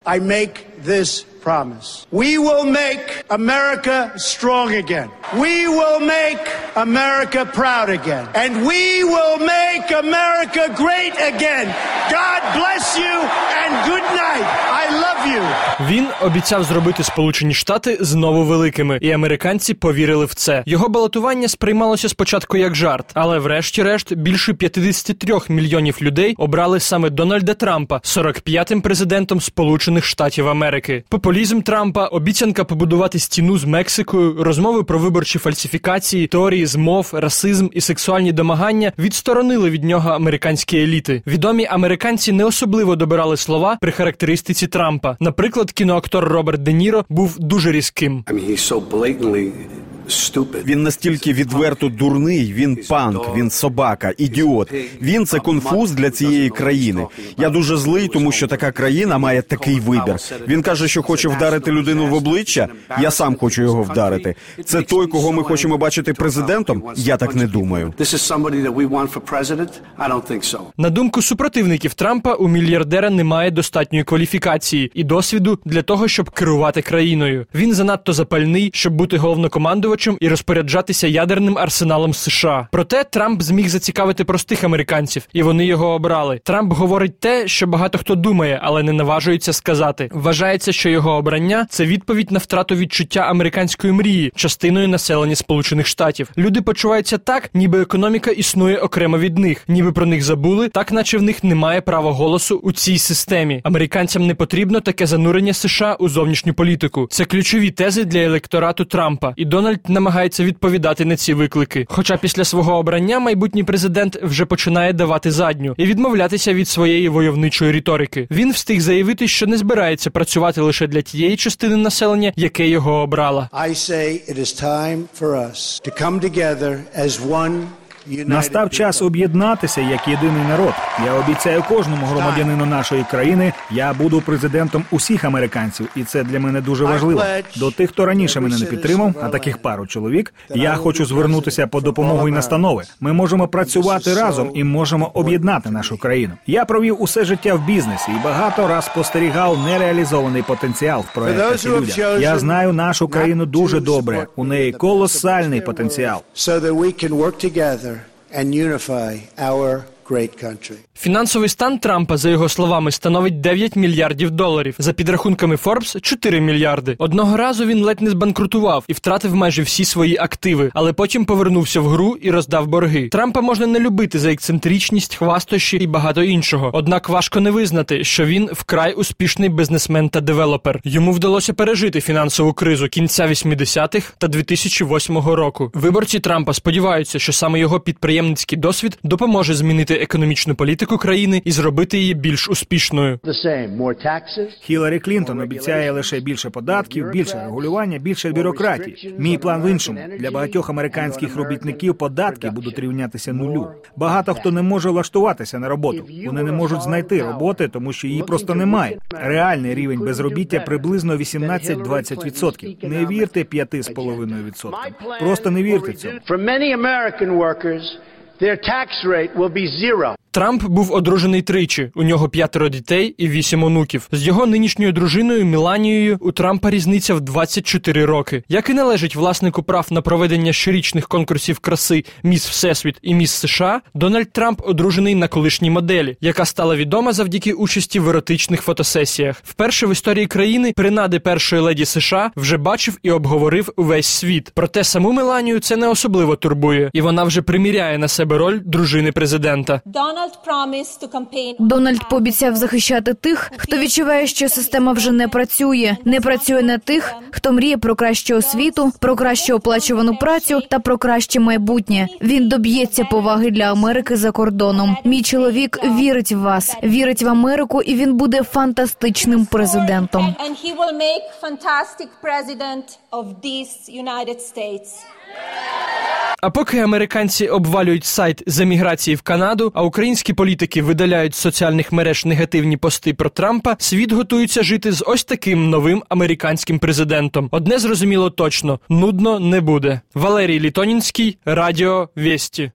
I make this promise. We will make America strong again. We will make America proud again. And we will make America great again. God bless you and good night. I love you. Він обіцяв зробити Сполучені Штати знову великими, і американці повірили в це. Його балотування сприймалося спочатку як жарт, але врешті-решт більше 53 мільйонів людей обрали саме Дональда Трампа 45-м президентом Сполучених Штатів Америки. Популізм Трампа, обіцянка побудувати стіну з Мексикою, розмови про виборчі фальсифікації, теорії змов, расизм і сексуальні домагання відсторонили від нього американські еліти. Відомі американці не особливо добирали слова при характеристиці Трампа. Наприклад, кіноактор Роберт Де Ніро був дуже різким. Він настільки відверто дурний, він панк, він собака, ідіот. Він – це конфуз для цієї країни. Я дуже злий, тому що така країна має такий вибір. Він каже, що хоче вдарити людину в обличчя, я сам хочу його вдарити. Це той, кого ми хочемо бачити президентом? Я так не думаю. На думку супротивників Трампа, у мільярдера немає достатньої кваліфікації і досвіду для того, щоб керувати країною. Він занадто запальний, щоб бути головнокомандувачем і розпоряджатися ядерним арсеналом США. Проте Трамп зміг зацікавити простих американців, і вони його обрали. Трамп говорить те, що багато хто думає, але не наважується сказати. Вважається, що його обрання – це відповідь на втрату відчуття американської мрії, частиною населення Сполучених Штатів. Люди почуваються так, ніби економіка існує окремо від них, ніби про них забули, так наче в них немає права голосу у цій системі. Американцям не потрібно таке занурення США у зовнішню політику. Це ключові тези для електорату Трампа, і Дональд намагається відповідати на ці виклики. Хоча після свого обрання майбутній президент вже починає давати задню і відмовлятися від своєї войовничої риторики. Він встиг заявити, що не збирається працювати лише для тієї частини населення, яке його обрала. Настав час об'єднатися як єдиний народ. Я обіцяю кожному громадянину нашої країни, я буду президентом усіх американців, і це для мене дуже важливо. До тих, хто раніше мене не підтримав, а таких пару чоловік, я хочу звернутися по допомогу і настанови. Ми можемо працювати разом і можемо об'єднати нашу країну. Я провів усе життя в бізнесі і багато раз спостерігав нереалізований потенціал в проєктах і людях. Я знаю нашу країну дуже добре. У неї колосальний потенціал. And unify our great country. Фінансовий стан Трампа, за його словами, становить $9 мільярдів. За підрахунками Forbes – 4 мільярди. Одного разу він ледь не збанкрутував і втратив майже всі свої активи, але потім повернувся в гру і роздав борги. Трампа можна не любити за ексцентричність, хвастощі і багато іншого. Однак важко не визнати, що він вкрай успішний бізнесмен та девелопер. Йому вдалося пережити фінансову кризу кінця 80-х та 2008 року. Виборці Трампа сподіваються, що саме його підприємницький досвід допоможе змінити економічну політику країни і зробити її більш успішною. Хіларі Клінтон обіцяє лише більше податків, більше регулювання, більше бюрократії. Мій план в іншому. Для багатьох американських робітників податки будуть рівнятися нулю. Багато хто не може влаштуватися на роботу. Вони не можуть знайти роботи, тому що її просто немає. Реальний рівень безробіття приблизно 18-20%. Не вірте 5,5%. Просто не вірте цьому. Трамп був одружений тричі, у нього 5 дітей і 8 онуків. З його нинішньою дружиною Меланією у Трампа різниця в 24 роки. Як і належить власнику прав на проведення щорічних конкурсів краси «Міс Всесвіт» і «Міс США», Дональд Трамп одружений на колишній моделі, яка стала відома завдяки участі в еротичних фотосесіях. Вперше в історії країни принади першої леді США вже бачив і обговорив увесь світ. Проте саму Меланію це не особливо турбує, і вона вже приміряє на себе роль дружини президента. Дональд пообіцяв захищати тих, хто відчуває, що система вже не працює. Не працює на тих, хто мріє про кращу освіту, про краще оплачувану працю та про краще майбутнє. Він доб'ється поваги для Америки за кордоном. Мій чоловік вірить в вас, вірить в Америку, і він буде фантастичним президентом. А поки американці обвалюють сайт з еміграції в Канаду, а українські політики видаляють з соціальних мереж негативні пости про Трампа, світ готується жити з ось таким новим американським президентом. Одне зрозуміло точно – нудно не буде. Валерій Літонінський, Радіо Вєсті.